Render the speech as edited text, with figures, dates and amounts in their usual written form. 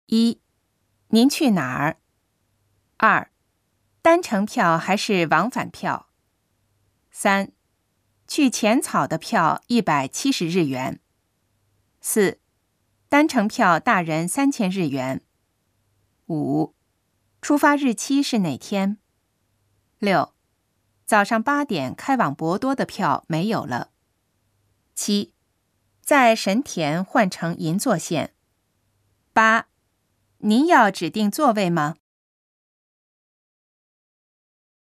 1. 您去哪儿？2. 单程票还是往返票？3. 去浅草的票170日元。4. 单程票大人3000日元。5. 出发日期是哪天？6. 早上8点开往博多的票没有了。7. 在神田换乘银座线。8. 您要指定座位吗？